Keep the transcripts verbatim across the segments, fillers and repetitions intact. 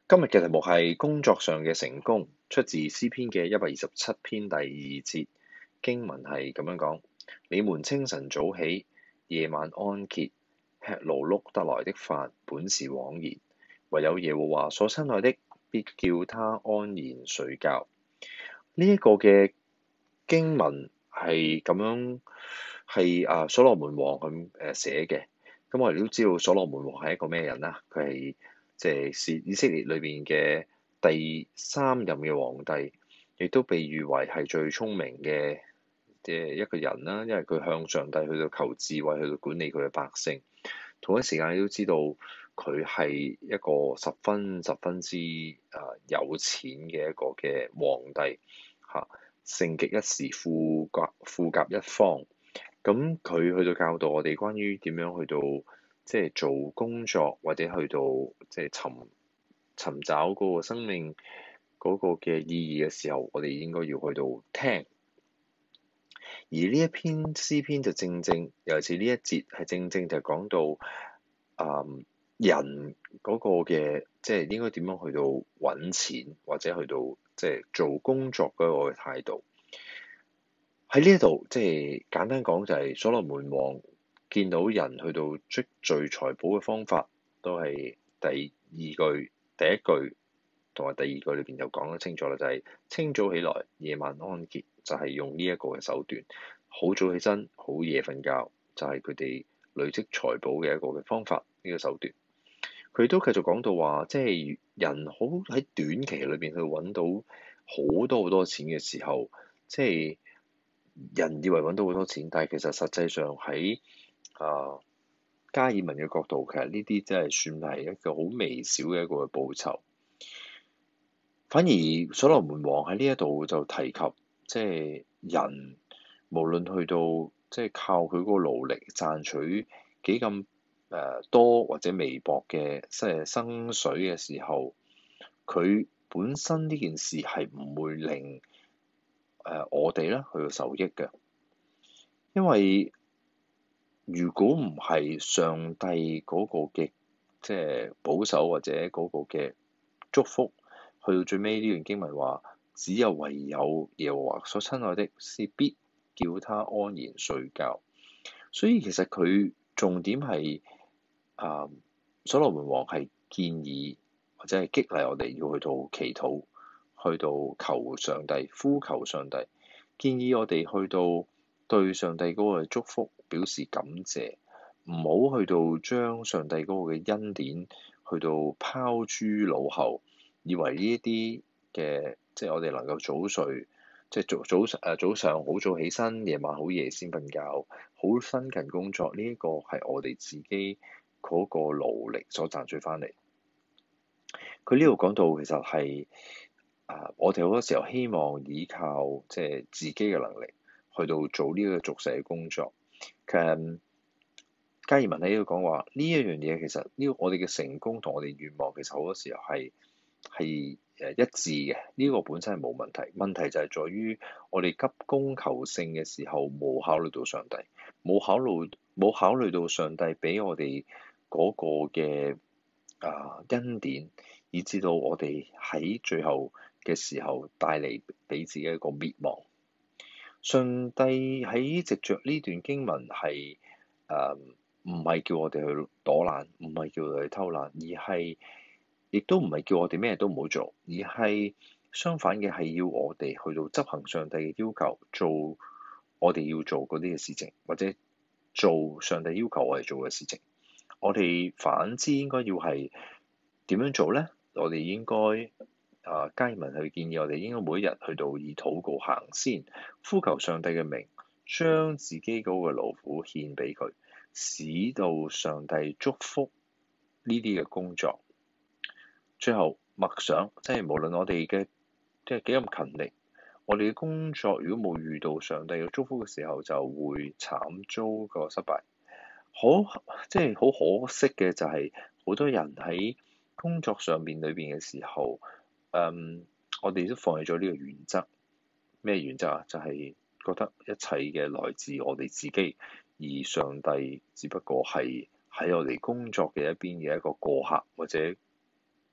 今日嘅題目係工作上嘅成功，出自詩篇嘅一百二十七篇第二節。經文係咁樣講：你們清晨早起，夜晚安歇，吃勞碌得來的飯，本是枉然；唯有耶和華所親愛的，必叫他安然睡覺。呢、這、一個嘅經文係咁樣係啊，所羅門王咁誒寫嘅。咁我哋都知道所羅門王係一個咩人啦？佢係即係是以色列裏邊嘅第三任嘅皇帝，亦都被譽為係最聰明嘅嘅一個人啦。因為佢向上帝去到求智慧，去到管理佢嘅百姓。同一時間，你都知道佢係一個十分十分之啊有錢嘅一個嘅皇帝嚇，盛極一時，富甲富甲一方。咁佢去到教導我哋關於點樣去到即係做工作，或者去到即係尋尋找嗰個生命嗰個嘅意義嘅時候，我哋應該要去到聽。而呢一篇詩篇就正正，尤其是呢一節係正正就講到啊、嗯、人嗰個嘅即係應該點樣去到揾錢，或者去到即係做工作嗰個態度。喺呢一度，即係簡單講，就係所羅門王見到人去到積聚財寶嘅方法，都係第二句、第一句同埋第二句裏邊就講得清楚啦。就係、是、清早起來，夜晚安歇，就係、是、用呢一個嘅手段。好早起身，好夜瞓覺，就係佢哋累積財寶嘅一個嘅方法，呢、這個手段。佢都繼續講到話，即係人好喺短期裏邊去揾到好多好多錢嘅時候，即係。人以為揾到好多錢，但係其實實際上喺啊加爾文嘅角度，其實呢啲真係算係一個好微小嘅一個嘅報酬。反而所羅門王喺呢一度就提及，即係人無論去到即係靠佢嗰個勞力賺取幾咁誒多或者微薄嘅即係薪水嘅時候，佢本身呢件事係唔會令誒、呃、我哋咧去到受益嘅，因為如果唔係上帝嗰個嘅即係保守或者嗰個嘅祝福，去到最尾呢段經文話，只有唯有耶和華所親愛的，是必叫他安然睡覺。所以其實佢重點係啊、呃，所羅門王係建議或者係激勵我哋要去到祈禱。去到求上帝，呼求上帝，建議我哋去到對上帝嗰個祝福表示感謝，唔好去到將上帝嗰個嘅恩典去到拋諸腦後，以為呢一啲嘅即係我哋能夠早睡，即係早早誒早上好早起身，夜晚好夜先瞓覺，好辛勤工作，呢一個係我哋自己嗰個勞力所賺取翻嚟。佢呢度講到其實係。Uh, 我哋好多時候希望依靠即係自己嘅能力去到做呢個俗世嘅工作。其實加爾文喺呢度講話呢一樣嘢，其實呢個我哋嘅成功同我哋願望其實好多時候係係誒一致嘅。呢、這個本身係冇問題，問題就係在於我哋急功求勝嘅時候冇考慮到上帝，冇考慮冇考慮到上帝俾我哋嗰個嘅啊恩典，以至到我哋喺最後嘅時候帶嚟俾自己一個滅亡。上帝喺藉着呢段經文係誒唔係叫我哋去躲懶，唔係叫我哋去偷懶，而係亦都唔係叫我哋咩都唔好做，而係相反嘅係要我哋去到執行上帝嘅要求，做我哋要做嗰啲嘅事情，或者做上帝要求我哋做嘅事情。我哋反之應該要係點樣做咧？我哋應該啊，加爾文去建議我哋應該每一日去到以禱告行先，呼求上帝嘅名，將自己嗰個勞苦獻俾佢，使到上帝祝福呢啲嘅工作。最後默想，即係無論我哋嘅即係幾咁勤力，我哋嘅工作如果冇遇到上帝嘅祝福嘅時候，就會慘遭個失敗。好，即係好可惜嘅就係好多人喺工作上面裏邊嘅時候。Um, 我哋都放棄咗呢個原則。咩原則啊？就係、是、覺得一切嘅來自我哋自己，而上帝只不過係喺我哋工作嘅一邊嘅一個過客，或者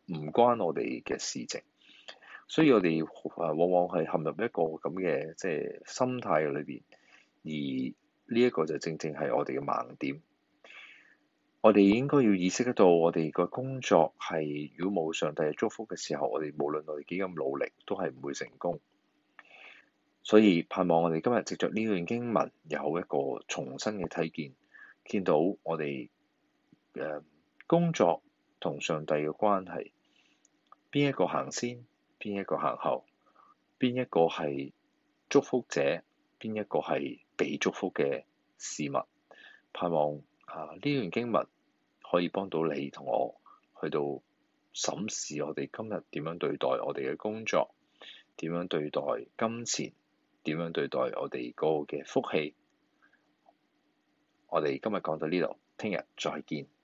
唔關我哋嘅事情，所以我哋往往係陷入一個咁嘅即係心態裏邊，而呢一個就正正係我哋嘅盲點。我哋應該要意識得到，我哋個工作係如果冇上帝嘅祝福嘅時候，我哋無論我哋幾咁努力，都係唔會成功。所以盼望我哋今日藉着呢段經文有一個重新嘅睇見，見到我哋誒工作同上帝嘅關係，邊一個行先，邊一個行後，邊一個係祝福者，邊一個係被祝福嘅事物。盼望啊呢段經文可以幫到你同我去到審視我哋今日點樣對待我哋嘅工作，點樣對待金錢，點樣對待我哋個嘅福氣。我哋今日講到呢度，聽日再見。